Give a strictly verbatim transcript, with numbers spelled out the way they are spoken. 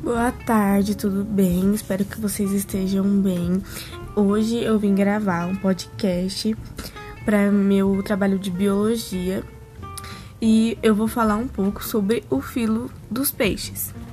Boa tarde, tudo bem? Espero que vocês estejam bem. Hoje eu vim gravar um podcast para meu trabalho de biologia e eu vou falar um pouco sobre o filo dos peixes.